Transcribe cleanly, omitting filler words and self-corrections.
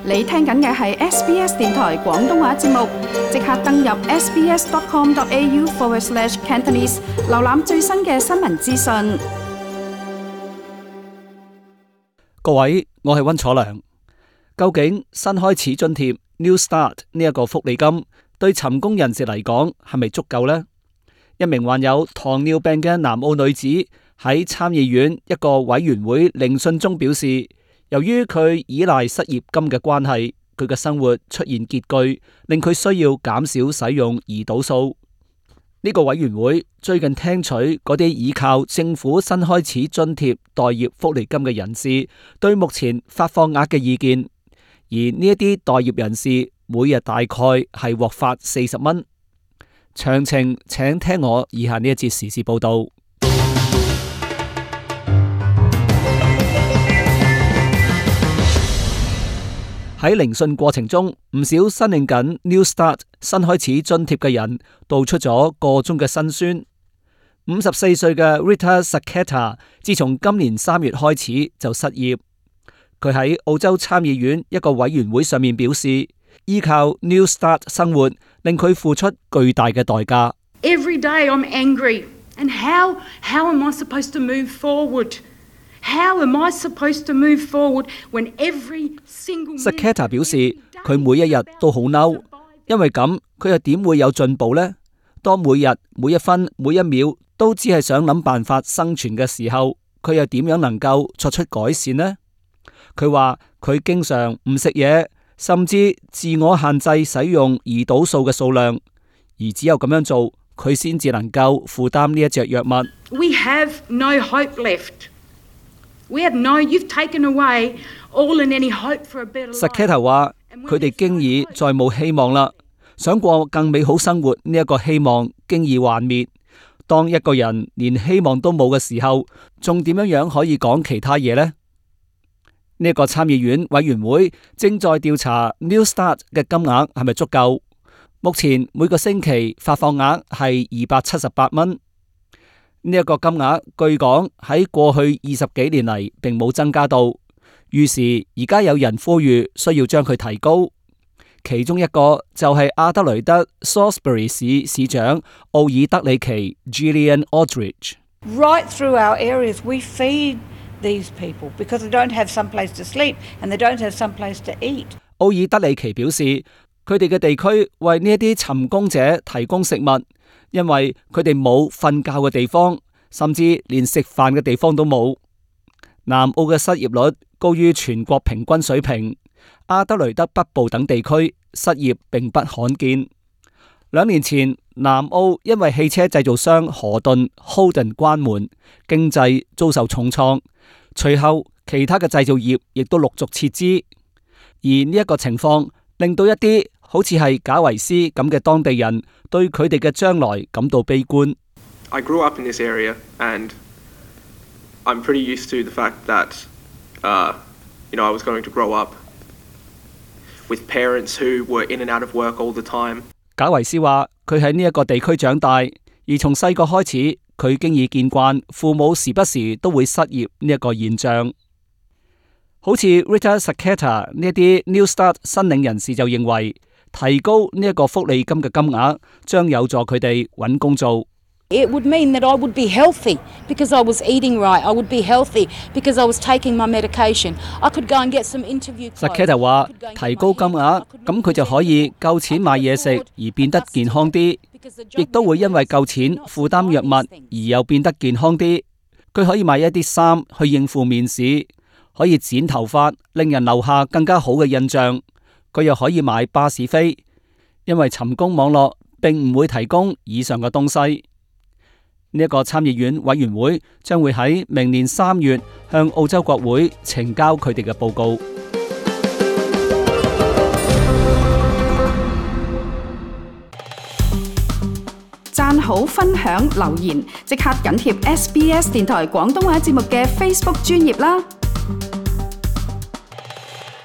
你聽緊嘅係 SBS 電台廣東話節目，即刻登入 sbs.com.au/Cantonese 瀏覽最新嘅新聞資訊。 各位，我係溫楚良。究竟新開始津貼 New Start 呢一個福利金對尋工人士嚟講係咪足夠呢？一名患有糖尿病嘅南澳女子喺參議院一個委員會聆訊中表示，由於佢依賴失業金嘅關係，佢嘅生活出現拮據，令佢需要減少使用胰島素。呢個委員會最近聽取嗰啲依靠政府新開始津貼待業福利金嘅人士對目前發放額嘅意見，而呢一啲待業人士每日大概係獲發40蚊。詳情請聽我以下呢一節時事報道。喺聆訊過程中，唔少申領緊 New Start 新開始津貼嘅人道出咗個中嘅辛酸。54歲嘅 Rita Sacketta 自從今年3月開始就失業。佢喺澳洲參議院一個委員會上面表示，依靠 New Start 生活令佢付出巨大嘅代價。 Every day I'm angry, and how am I supposed to move forward?How am I supposed to move forward when every single Sacketta 表示，佢每一日都好嬲，因為咁佢又點會有進步呢？當每日每一分每一秒都只係想諗辦法生存嘅時候，佢又點樣能夠作出改善呢？佢話佢經常唔食嘢，甚至自我限制使用胰島素嘅數量，而只有咁樣做，佢先至能夠負擔呢一隻藥物。 We have no hope left.You've taken away all and any hope for a better life. Sacketta 話：佢哋經已再冇希望啦，想過更美好生活呢一個希望經已幻滅。當一個人連希望都冇嘅時候，仲點樣可以講其他嘢呢？呢一個參議院委員會正在調查 New Start 嘅金額係咪足夠。目前每個星期發放額係278蚊。呢一個金額據講喺過去20幾年嚟並冇增加到，於是而家有人呼籲需要將佢提高。其中一個就係阿德雷德 Salisbury 市市長奧爾德里奇 Gillian Aldridge。Right through our areas, we feed these people because they don't have some place to sleep and they don't have some place to eat。 奧爾德里奇表示，佢哋嘅地區為呢一啲尋工者提供食物。因為佢哋冇瞓覺嘅地方，甚至連食飯嘅地方都冇。南澳嘅失業率高於全國平均水平，阿德雷德北部等地區失業並不罕見。2年前，南澳因為汽車製造商河頓 Holden 關門，經濟遭受重創。隨後，其他嘅製造業亦都陸續撤資，而呢一個情況令到一啲好似係賈維斯咁嘅當地人對佢哋嘅將來感到悲觀。 I grew up in this area and I'm pretty used to the fact that, I was going to grow up with parents who were in and out of work all the time。 賈維斯話：佢喺呢一個地區長大，而從細個開始，佢經已見慣父母時不時都會失業呢一個現象。好似 Rita Sacketta 呢一啲 New Start 申領人士就認為，提高呢一個福利金嘅金額，將有助佢哋揾工做。 It would mean that I would be healthy because I was eating right. I would be healthy because I was taking my medication. I could go and get some interview clothes. Sacketta 話：提高金額，咁佢就可以夠錢買嘢食，而變得健康啲，亦都會因為夠錢負擔藥物，而又變得健康啲。佢可以買一啲衫去應付面試，可以剪頭髮，令人留下更加好嘅印象。佢又可以買巴士飛，因為尋工網絡並唔會提供以上嘅東西。呢一個參議院委員會將會喺明年3月向澳洲國會呈交佢哋嘅報告。 讚好、分享、留言，即刻緊貼SBS 電台廣東話節目嘅 Facebook 專頁啦！